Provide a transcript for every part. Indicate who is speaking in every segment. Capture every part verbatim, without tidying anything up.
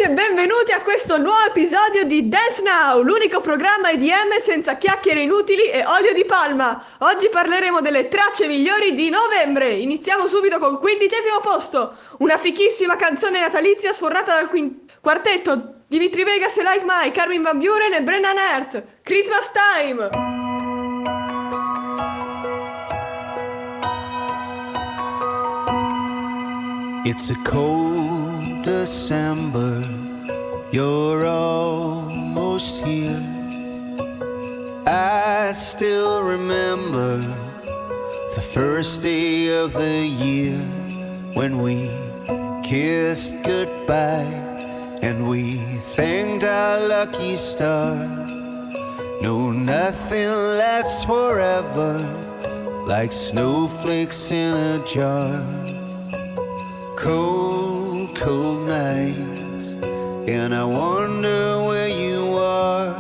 Speaker 1: e benvenuti a questo nuovo episodio di Dance Now, l'unico programma E D M senza chiacchiere inutili e olio di palma. Oggi parleremo delle tracce migliori di novembre. Iniziamo subito col quindicesimo posto, una fichissima canzone natalizia suonata dal quin- quartetto Dimitri Vegas e Like Mike, Armin van Buuren e Brennan Heart, Christmas Time.
Speaker 2: It's a cold December, you're almost here. I still remember the first day of the year when we kissed goodbye and we thanked our lucky star. No, nothing lasts forever like snowflakes in a jar. Cold, cold nights, and I wonder where you are.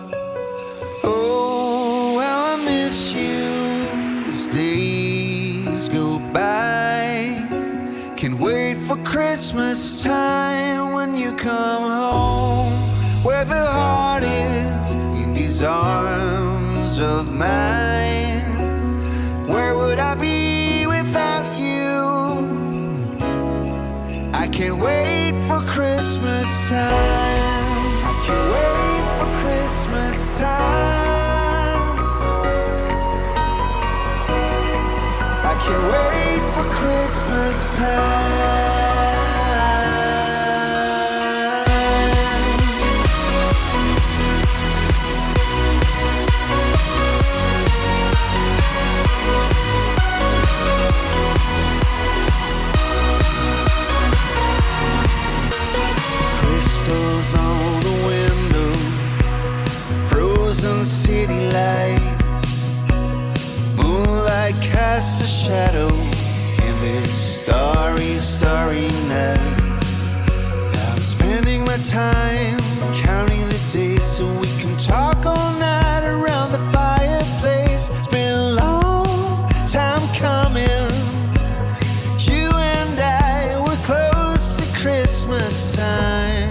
Speaker 2: Oh, how I miss you as days go by. Can't wait for Christmas time when you come home, where the heart is in these arms of mine. Where would I be without you? I can't wait for Christmas time. I can't wait for Christmas time. I can't wait for Christmas time. On the window, frozen city lights, moonlight casts a shadow in this starry, starry night. I'm spending my time counting the days so we can talk all night around the fireplace. It's been a long time coming. You and I were close to Christmas time.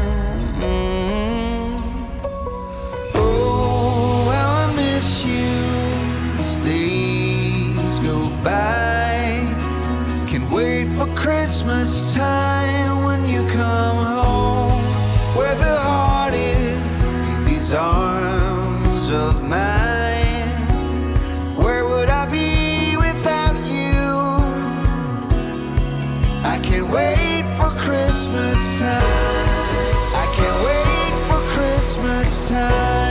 Speaker 2: Christmas time when you come home, where the heart is in these arms of mine. Where would I be without you? I can't wait for Christmas time. I can't wait for Christmas time.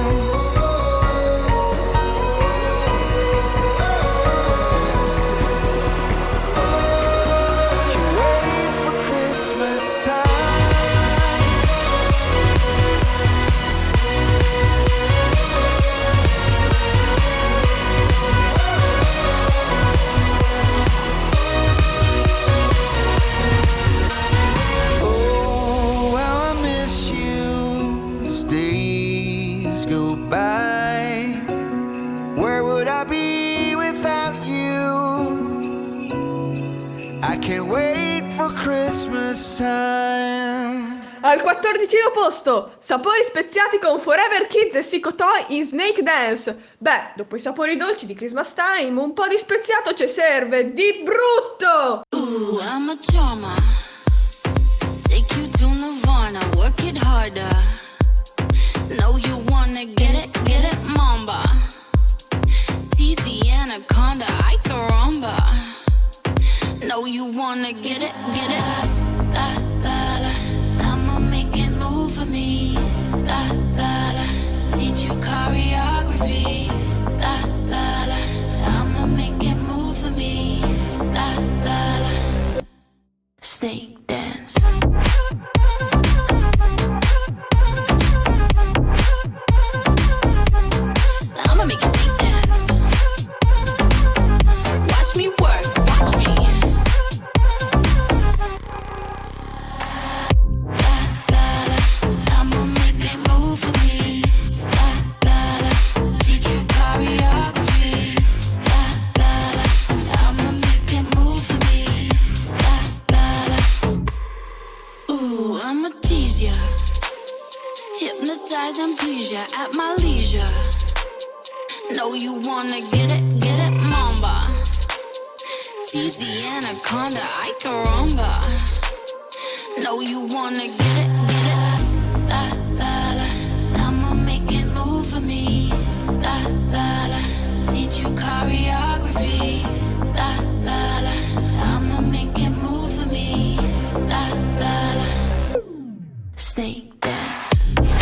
Speaker 1: Al quattordicesimo posto, sapori speziati con Forever Kids e Sicko Toy in Snake Dance. Beh, dopo i sapori dolci di Christmas Time, un po' di speziato ci serve, di brutto!
Speaker 3: Ooh, I'm a charmer. Take you to Nirvana, work it harder. Know you wanna get it, get it, mamba. Tease the anaconda, I caramba. Know you wanna get it, get it. La, la, la. I'ma make it move for me. La, la, la. Teach you choreography. La, la, la. I'ma make it move for me. La, la, la. Snake dance. I'ma make you snake dance. Watch me work, watch me. ya at my leisure. Know you wanna get it, get it, mamba. Tease the anaconda, I can rumba. Know you wanna get it, get it. La, la, la, I'ma make it move for me. La, la, la, teach you choreography. La, la, la, I'ma make it move for me. La, la, la, snake dance.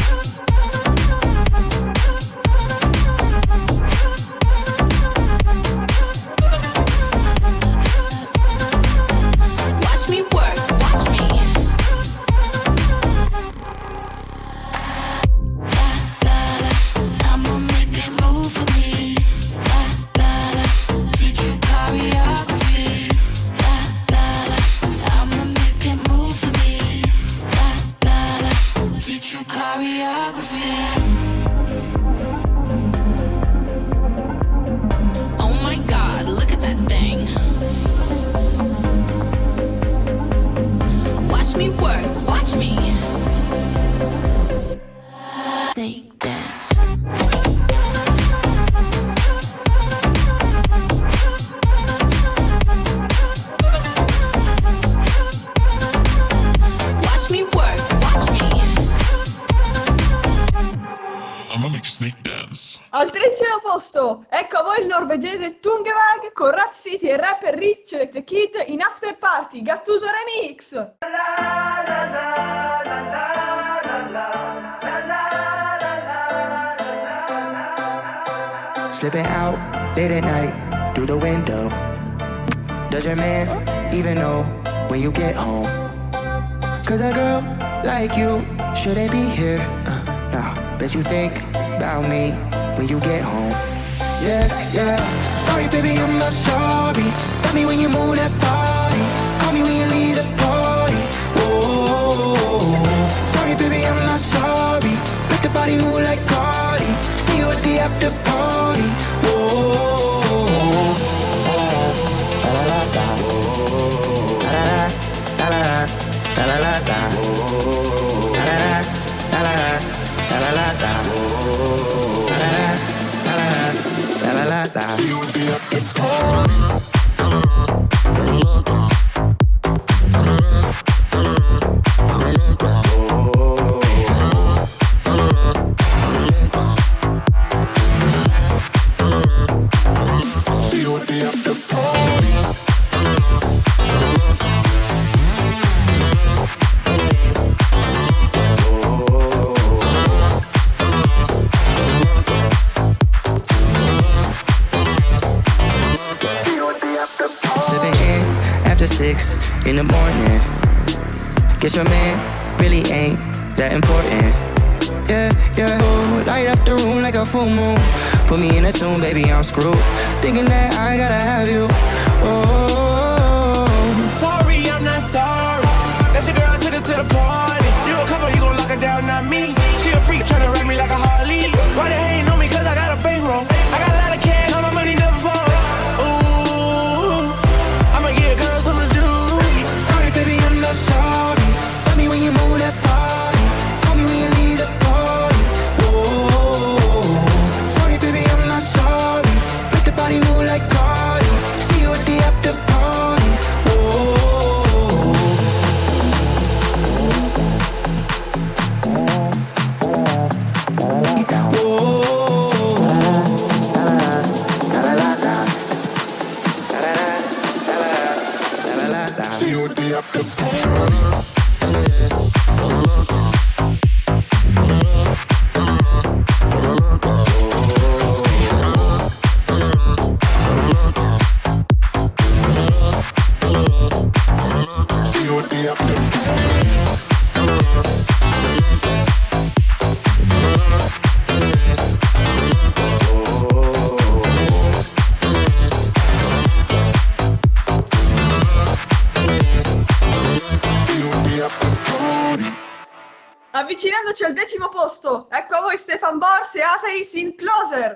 Speaker 1: Al tredicesimo posto, ecco a voi il norvegese Tungevag con Rat City e rapper Rich The Kid in After Party, Gattuso Remix.
Speaker 4: Slipping out late at night through the window. Does your man even know when you get home? Cause a girl like you shouldn't be here. Uh, nah, bet you think about me when you get home. Yeah, yeah. Sorry, baby, I'm not sorry. Got me when you move that body. Call me when you leave the party. Oh, sorry, baby, I'm not sorry. Make the body move like Cardi. See you at the after party. Oh, la la la la, la la la la, la la la la, la la la la, la la la la. La la la la. See you at the after party. In the morning, guess your man really ain't that important. Yeah, yeah. Oh, light up the room like a full moon. Put me in a tune, baby, I'm screwed. Thinking that I gotta have you. Oh,
Speaker 5: sorry, I'm not sorry. That's your girl, I took her to the party. You gon' come up, you gon' lock her down, not me. She a freak, tryna ride me like a Harley. Why they hating on me? Cause I got a bankroll. I got a lot of cash, all my money never fall.
Speaker 4: Sorry, tell me when you move that body. Call me when you leave the party. Oh, sorry, baby, I'm not sorry. Make the body move like Cardi. See you at the after party. Oh, la la la la, la la la la. See you at the after party.
Speaker 1: Avvicinandoci al decimo posto, ecco a voi Stefan Bors e Atheris in Closer.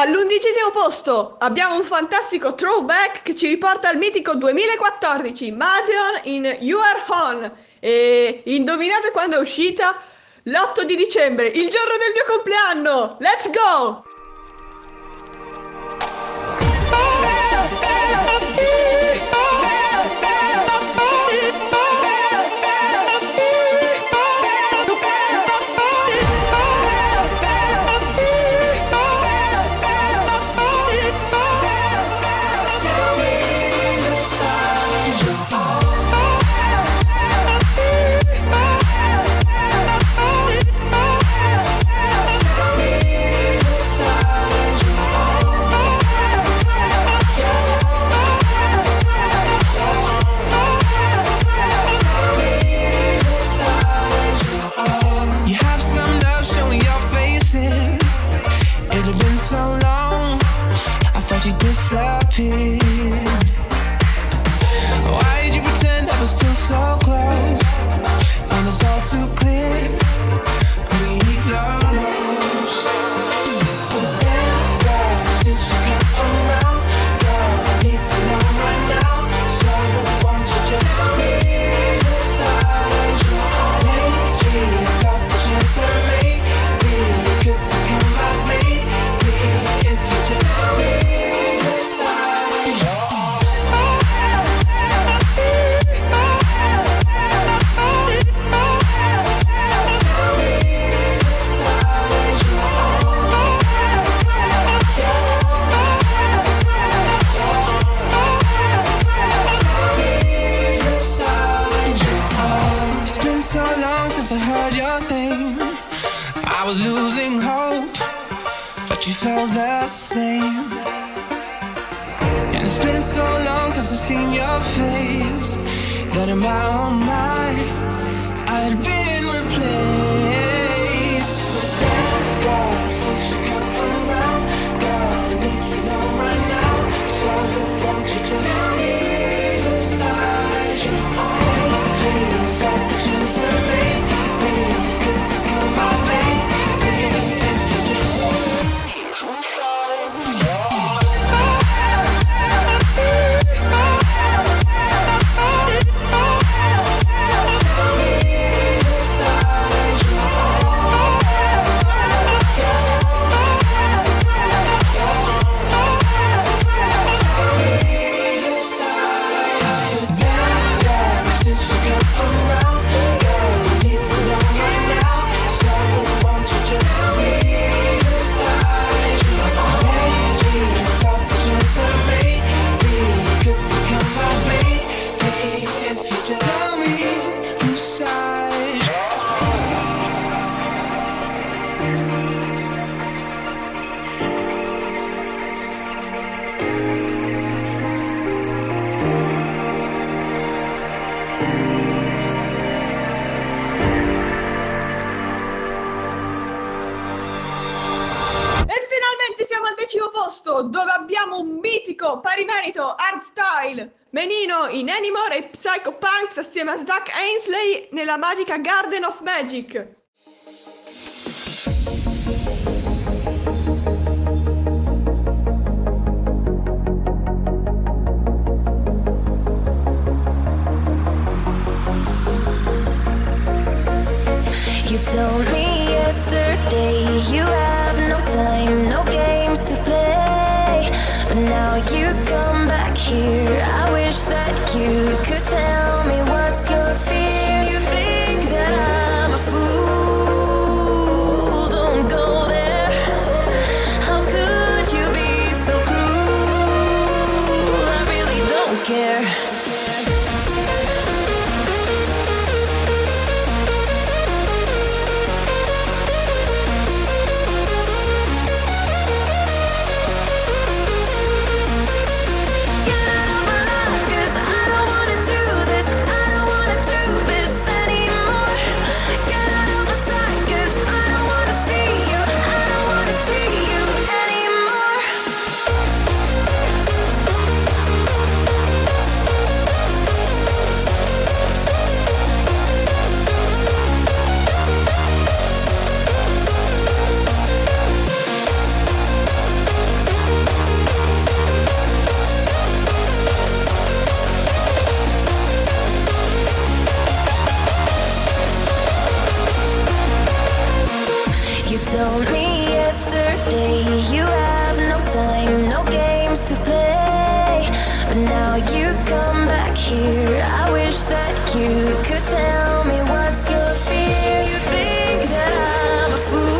Speaker 1: All'undicesimo posto abbiamo un fantastico throwback che ci riporta al mitico duemilaquattordici, Madeon in You Are On. E indovinate quando è uscita? L'otto di dicembre, il giorno del mio compleanno! Let's go!
Speaker 5: You disappeared. Why did you pretend I was still so close when it's all too clear? We lost. Girl, since you come around, girl, I need to know right now. So won't you just leave inside your heart? Lately, I felt the chance that maybe you could become my baby if you just leave. I heard your name, I was losing hope, but you felt the same. And it's been so long since I've seen your face that in my own mind I'd been replaced. Girl, since you come around, girl, I need to know right now. So won't you just leave inside your heart? Please, that just the way.
Speaker 1: Dove abbiamo un mitico pari merito hardstyle Menino in Anymore e Psycho Punks assieme a Zach Ainsley nella magica Garden of Magic.
Speaker 6: You told me yesterday you have no time, no games to play. But now you come back here. I wish that you could tell me what's your fear. You think that I'm a fool. Don't go there. How could you be so cruel? I really don't care. Get out of my life, 'cause I don't wanna do this. You told me yesterday you have no time, no games to play. But now you come back here. I wish that you could tell me what's your fear. You think that I'm a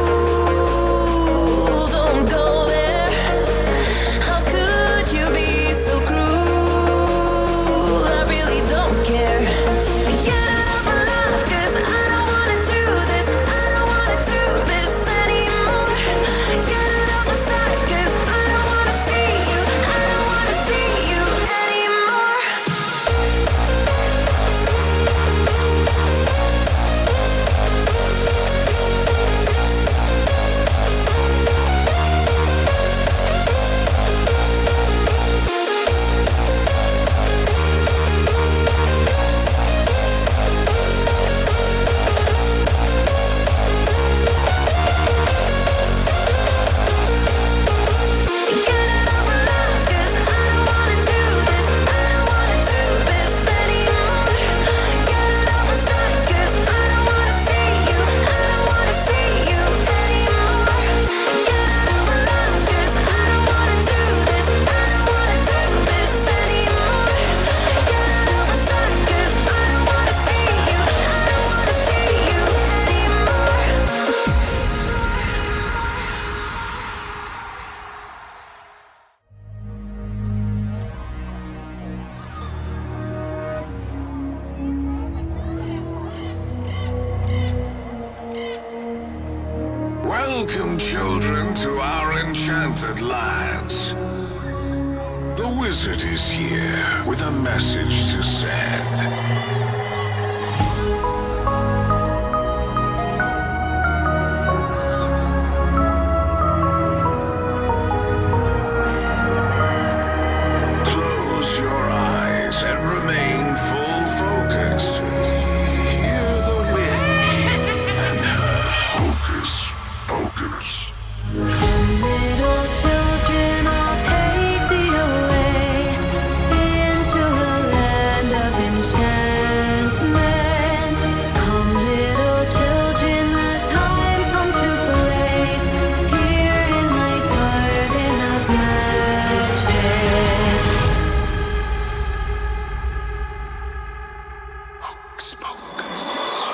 Speaker 6: fool. Don't go there. How could you be so cruel? I really don't care. Get out of my life, 'cause I don't wanna do this. I don't wanna do this anymore. Get out of my sight, 'cause I don't wanna see you. I don't wanna see you anymore. Get out of my life, 'cause I don't wanna do this. I don't wanna do this anymore. Get out of my sight, 'cause I don't wanna see you. I don't wanna see you anymore. Get out of my life, 'cause I don't wanna do this. I don't wanna do this anymore. Get out of my sight, 'cause I don't wanna see you. I don't wanna see you anymore.
Speaker 7: Welcome, children, to our enchanted lands. The wizard is here with a message to send. Close your eyes and remain full focus. Hear the witch and her hocus pocus.
Speaker 6: Little children, I'll take thee away into a land of enchantment. Come, little children, the time's come to play here in my garden of magic.
Speaker 7: Hocus pocus.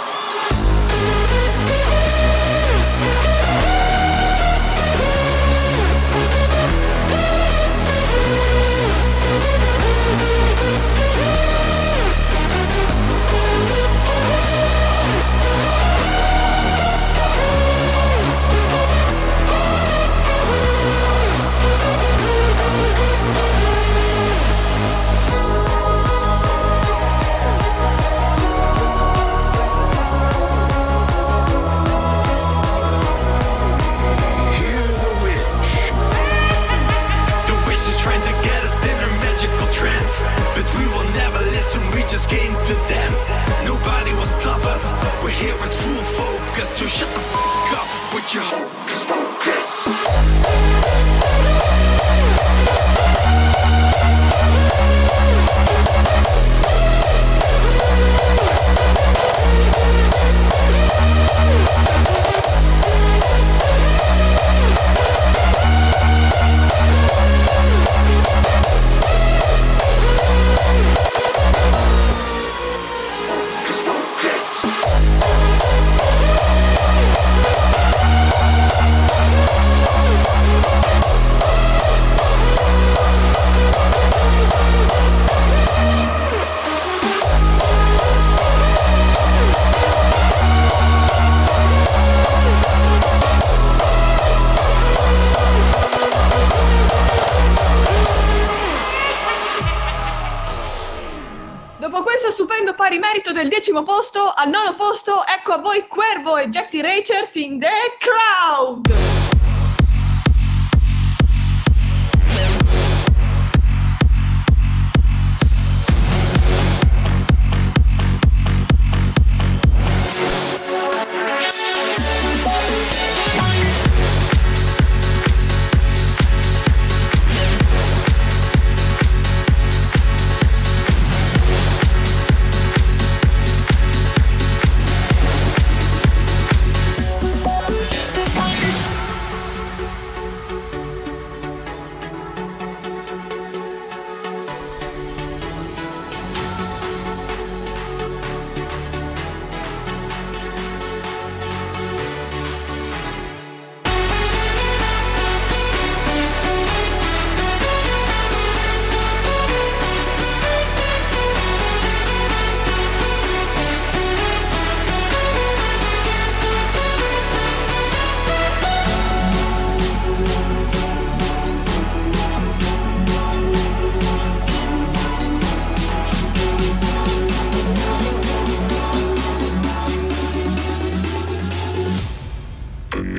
Speaker 7: Hear the witch.
Speaker 5: The witch is trying to get us in her magical trance, but we will never listen, we just came to dance. Nobody will stop us, we're here with full focus, so shut the fuck up with your hocus pocus. Hocus pocus.
Speaker 1: Dopo questo stupendo pari merito del decimo posto, al nono posto ecco a voi Cuervo e Jack the Racers in The Crowd.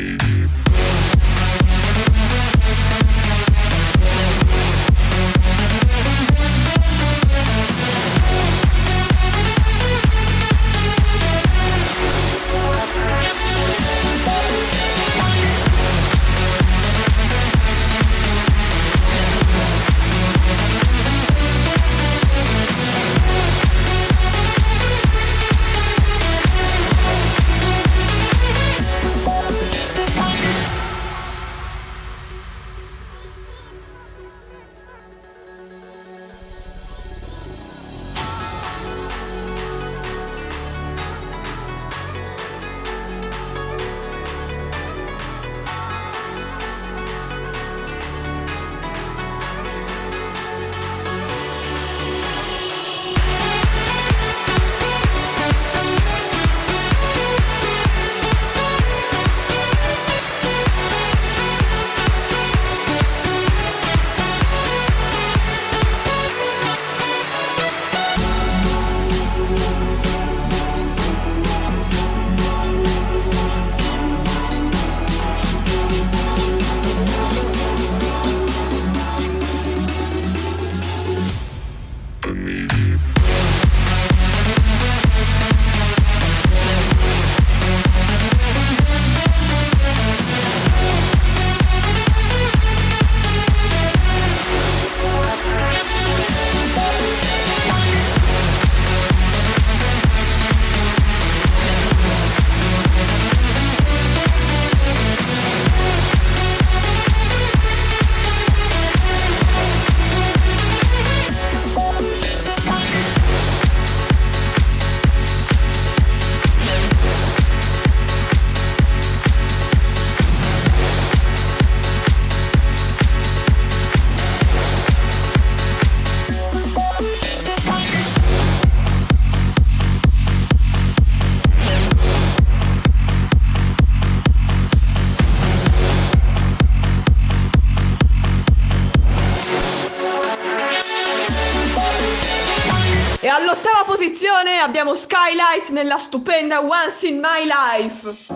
Speaker 1: E all'ottava posizione abbiamo Skylight nella stupenda Once in My Life.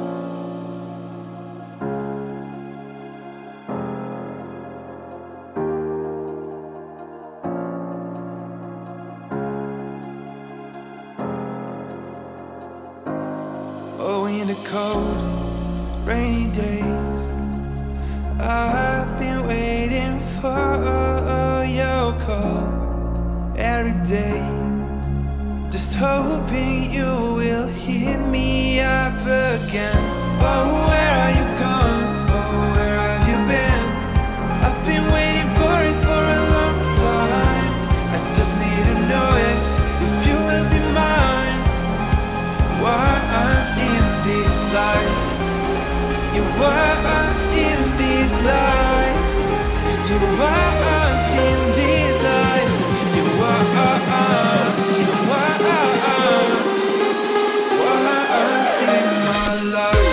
Speaker 8: Oh, in the cold, rainy days, I've been waiting for your call every day, just hoping you will hit me up again. Oh, where are you gone? Oh, where have you been? I've been waiting for it for a long time. I just need to know if, if you will be mine. Once in this life, you once in this life, you once in this life, you once, you once, once in my life.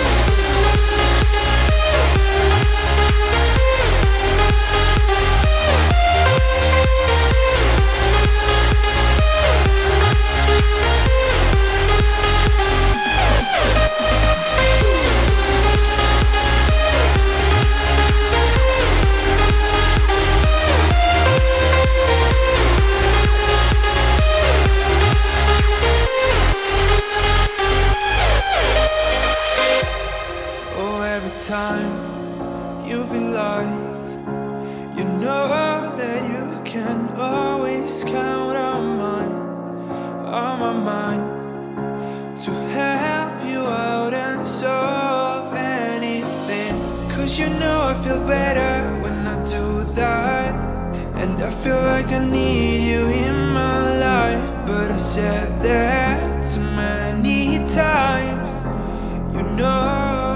Speaker 8: Time you feel like you know that you can always count on mine, on my mind, to help you out and solve anything. Cause you know I feel better when I do that, and I feel like I need you in my life. But I said that too many times, you know.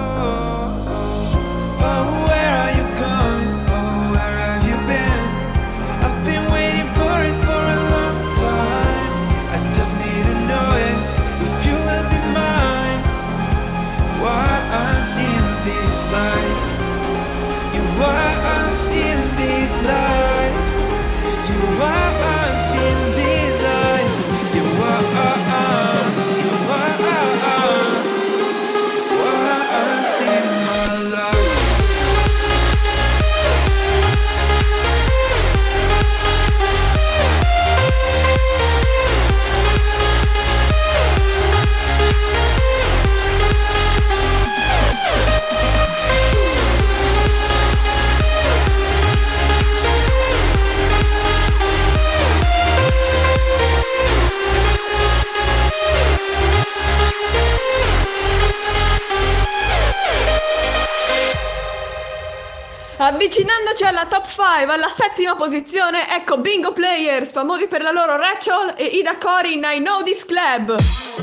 Speaker 8: You once in this life, you once in this life, you once, you once, once in my life.
Speaker 1: Avvicinandoci alla top cinque, alla settima posizione, ecco Bingo Players, famosi per la loro Rachel e Ida Cori in I Know This Club.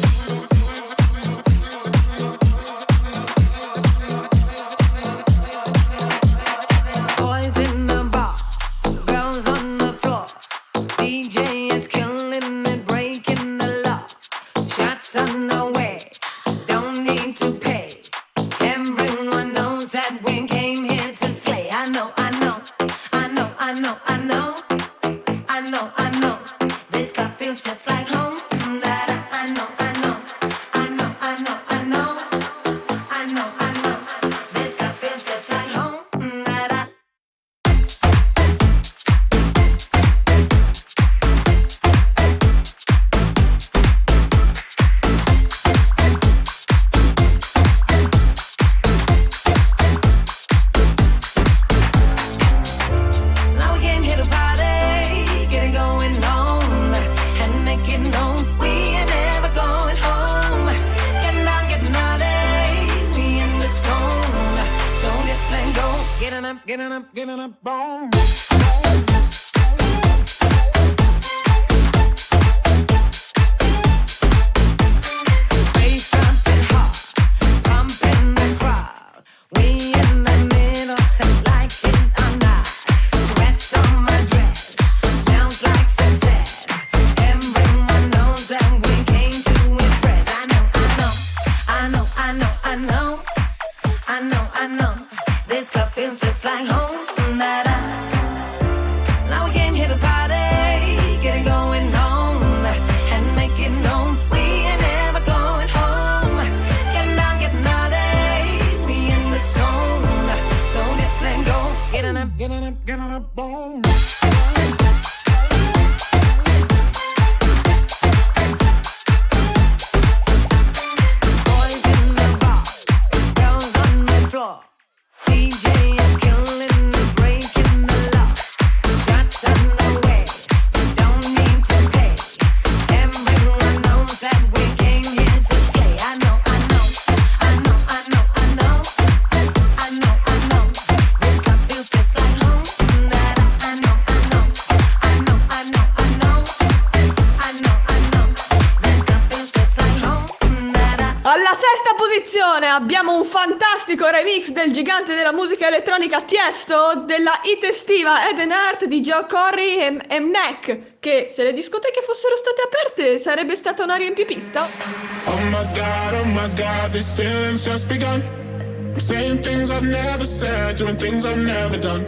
Speaker 1: Abbiamo un fantastico remix del gigante della musica elettronica Tiesto della hit estiva Eden Heart di Joe Corry e, e Mnek, che se le discoteche fossero state aperte sarebbe stata una riempipista.
Speaker 9: Oh my god, oh my god, these feelings just begun. I'm saying things I've never said, doing things I've never done.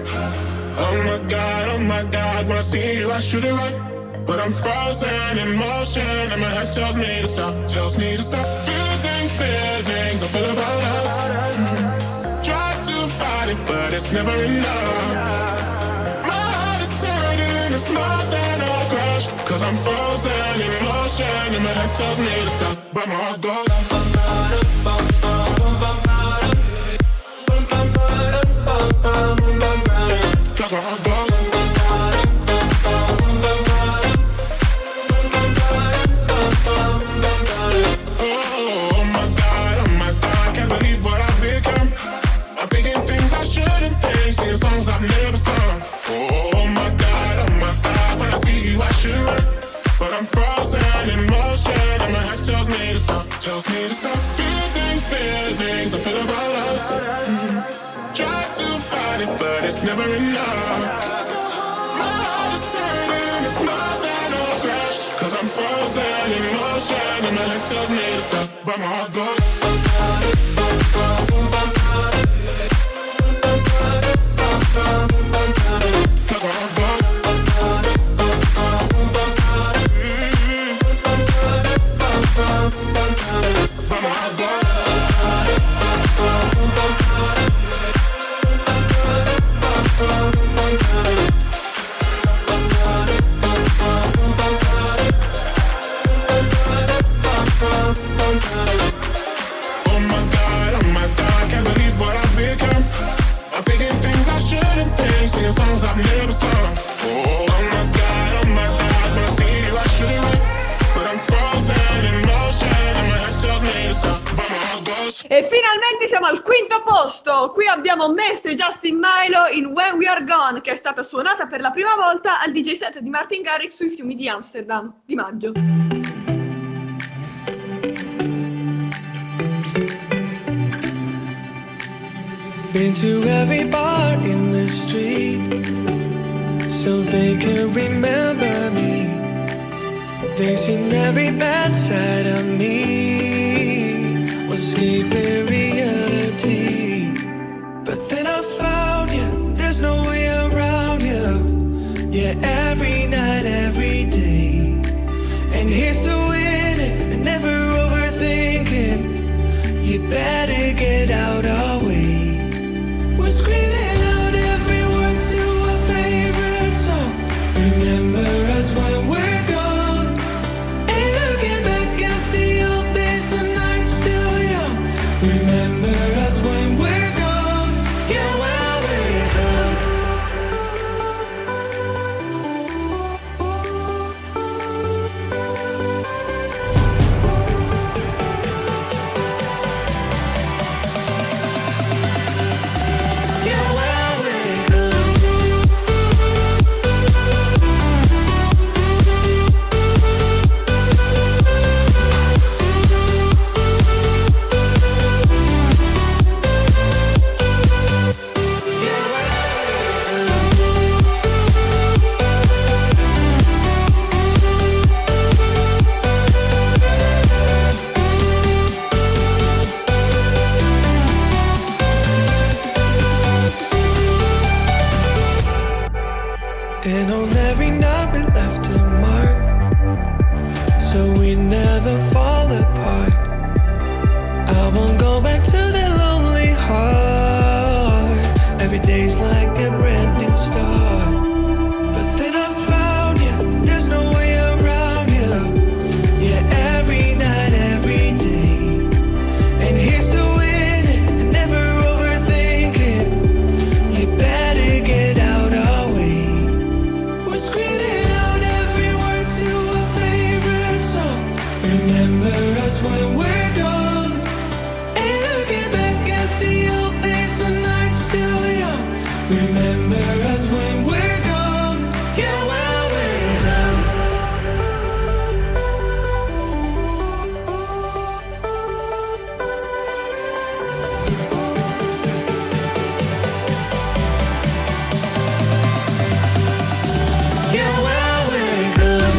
Speaker 9: Oh my god, oh my god, when I see you I shoot it right, but I'm frozen in motion and my head tells me to stop, tells me to stop. Feeling, feelings I feel about us. Mm-hmm. Try to fight it, but it's never enough. My heart is hurting, it's more than a crush, cause I'm frozen in motion and my head tells me to stop, but my heart goes. Cause my heart goes. Singing songs I've never sung. Oh my god, oh my god, when I see you I should run, but I'm frozen in motion and my head tells me to stop, tells me to stop. Feeling, feelings I feel about us. Mm-hmm. Try to fight it, but it's never enough. My heart is hurting, it's more than a crash, cause I'm frozen in motion and my head tells me to stop, but my heart goes.
Speaker 1: E finalmente siamo al quinto posto. Qui abbiamo Mesto e Justin Milo in When We Are Gone, che è stata suonata per la prima volta al D J set di Martin Garrix sui fiumi di Amsterdam di maggio.
Speaker 8: Been to every bar in the street so they can remember me. They've seen every bad side of me, escaping reality. But then I found you, there's no way around you. Yeah, every night, every day. And here's to winning and never overthinking. You better get out our way. We're screaming out every word to our favorite song. Remember us when we're gone. Ain't looking back at the old days, the night still young. Remember us when we're gone. Yeah, when we're gone. Yeah, when we're gone. And on every night we left a mark, so we never fall apart. I won't go back to that lonely heart. Every day's like a brand new start. But then I found you, there's no way around you. Yeah, every night, every day. And here's to winning and never overthinking. You better get out our way. We're screaming out every word to our favorite song. Remember us when we're gone. Ain't looking back at the old days, the night still young. Remember us when we're gone. Yeah, when we're gone. Yeah, when we're gone.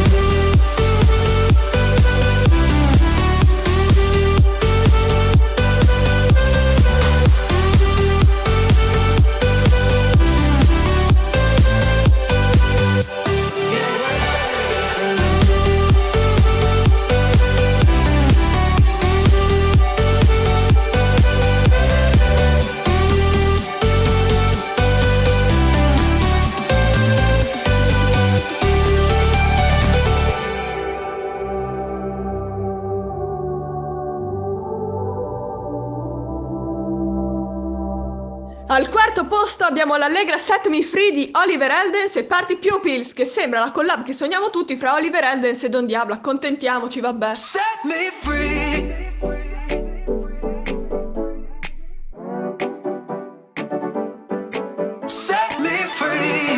Speaker 1: Al quarto posto abbiamo l'allegra Set Me Free di Oliver Heldens e Party Pupils, che sembra la collab che sogniamo tutti fra Oliver Heldens e Don Diablo. Accontentiamoci, vabbè.
Speaker 8: Set me free. Set me free.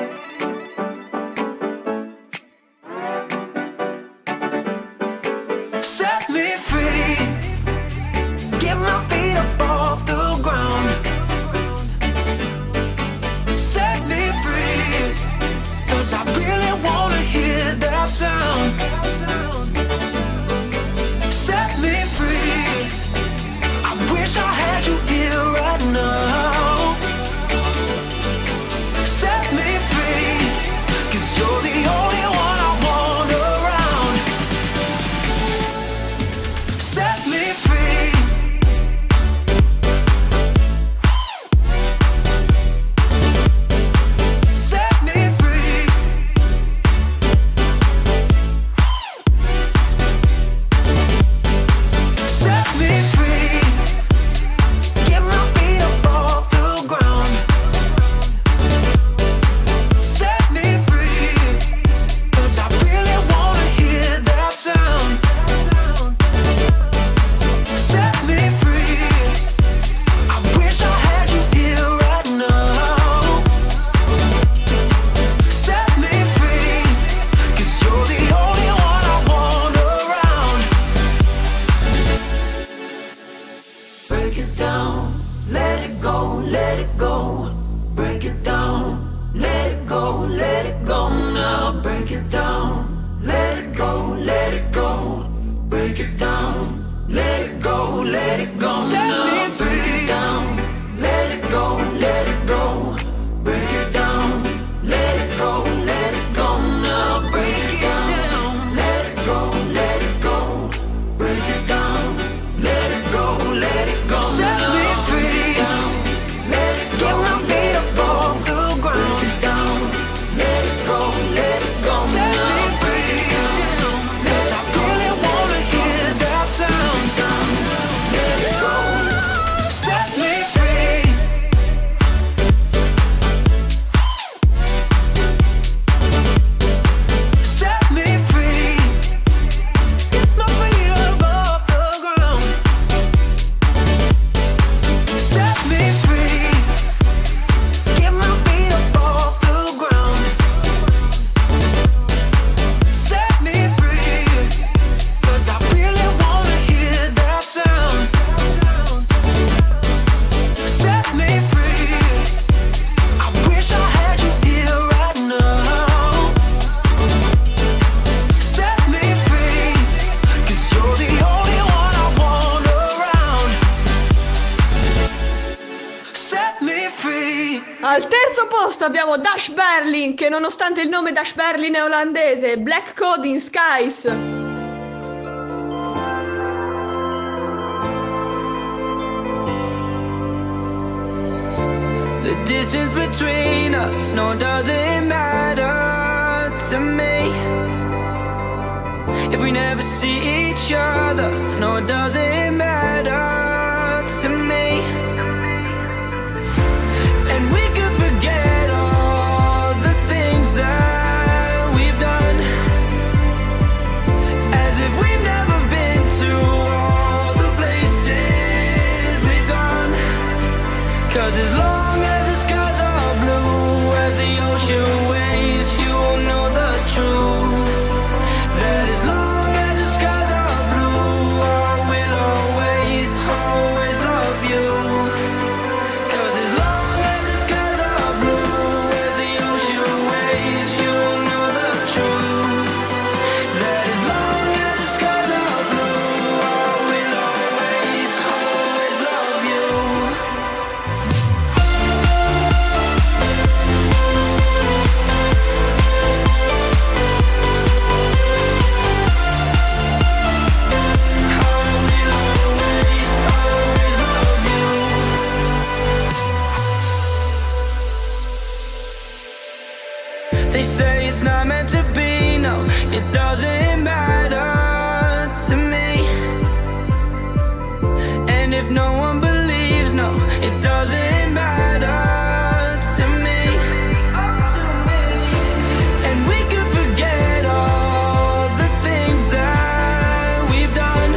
Speaker 8: Set me free. Get my feet up off the ground. Set me free. 'Cause I really wanna hear that sound.
Speaker 10: let it go, break it down. Let it go, let it go now, break it down. Let it go, let it go, break it down. Let it go, let it go now, break it down. Let it go, let it go, break it down. Let it go, let it go now, break it down. Let it go, let it go, break it down. Let it go, let it go now, set me free. Let it go, get my feet up off the ground. Break it down. Let it go, let it go set now, me free. Cause I really wanna hear that sound. Let it go, set me free. Set me free. Get my feet up off the ground. Set me free. Get my feet up off the ground. Set me free. Cause I really wanna hear that sound. Set me free. I wish I had you here right now. Set me free. Cause you're the only one I want around. Set me free.
Speaker 1: Al terzo posto abbiamo Dash Berlin, che nonostante il nome Dash Berlin è olandese, Black Code in Skies.
Speaker 10: The distance between us, no, doesn't matter to me. If we never see each other, no, it doesn't matter to me. And we could forget all the things that we've done, as if we've never been to all the places we've gone. Cause as long as the skies are blue, as the ocean waves, you will know the truth. That as long as the skies are blue, I will always, always love you. Cause as long as the skies are blue, as the ocean waves, you will know the truth. That as long as the skies are blue, I will always, always love you. They say it's not meant to be, no, it doesn't matter to me. And if no one believes, no, it doesn't matter to me. And we could forget all the things that we've done,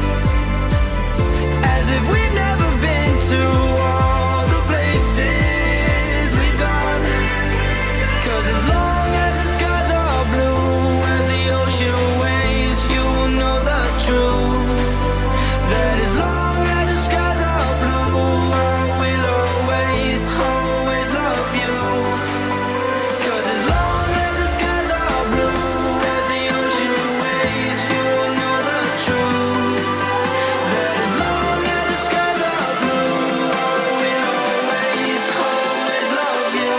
Speaker 10: as if we've never been to all the places we've gone. Cause as long as the skies are blue, as the ocean waves, you will know the truth. That as long as the skies are blue, I will always, always love you. Cause as long as the skies are blue, as the ocean waves, you will know the truth. That as long as the skies are blue, I will always, always love you.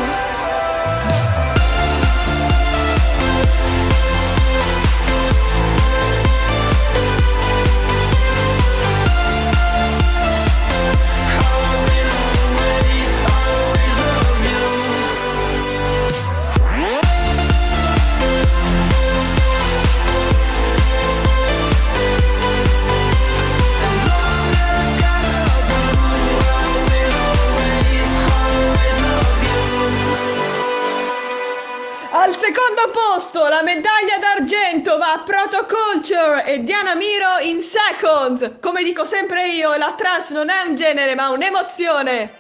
Speaker 1: Al secondo posto la medaglia d'argento va a Proto Culture e Diana Miro in Seconds. Come dico sempre io, la trance non è un genere ma un'emozione.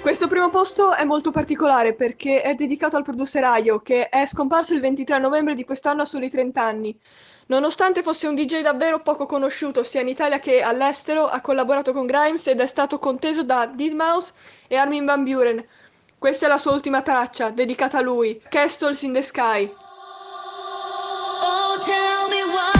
Speaker 1: Questo primo posto è molto particolare perché è dedicato al producer Ayo, che è scomparso il ventitré novembre di quest'anno a soli trenta anni. Nonostante fosse un D J davvero poco conosciuto sia in Italia che all'estero, ha collaborato con Grimes ed è stato conteso da deadmau five e Armin van Buuren. Questa è la sua ultima traccia, dedicata a lui, Castles in the Sky.
Speaker 6: Oh, tell me why.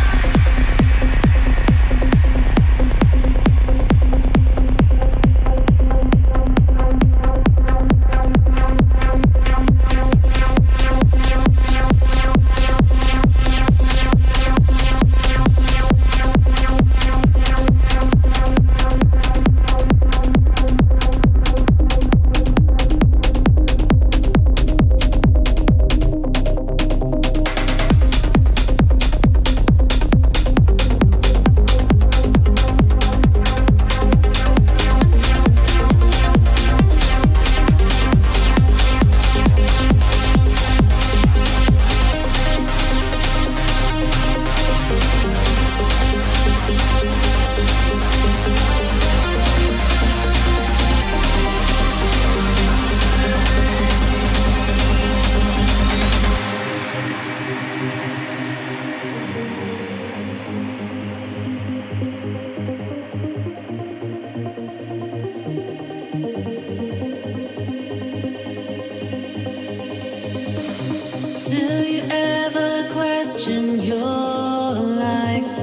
Speaker 6: Question your life.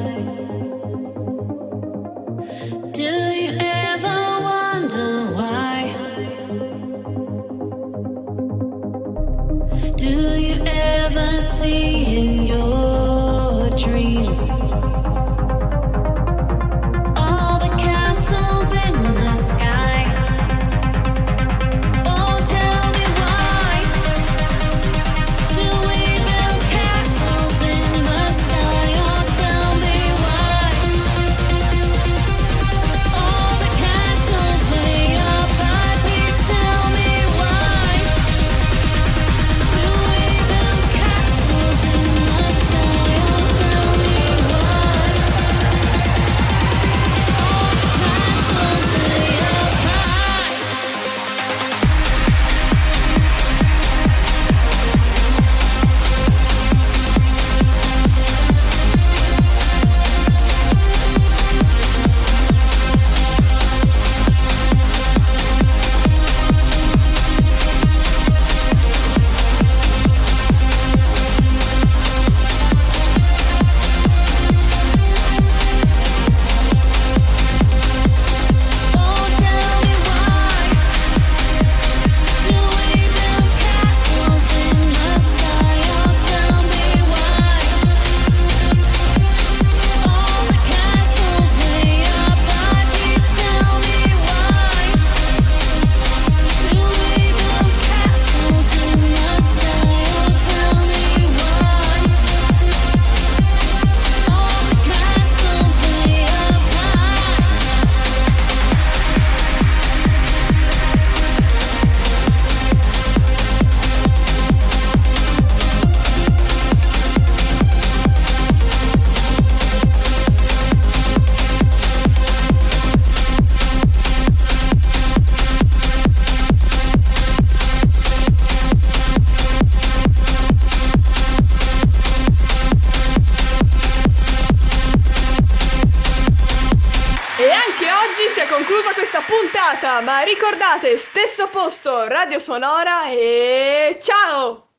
Speaker 6: Do you ever wonder why? Do you ever see in your dreams all the castles in the sky? Oh, tell me why do we build castles in the sky? Oh, tell me why all the castles way up high. Please tell me why do we build castles in the sky? Oh, tell me why all the castles way up high. Oh, tell me why do we build castles in the sky? Oh, tell me why all the castles way up high. Please tell me why do we build castles in the sky? Oh, tell me why all the castles way up high.
Speaker 1: E anche oggi si è conclusa questa puntata, ma ricordate, stesso posto, Radio Sonora e ciao!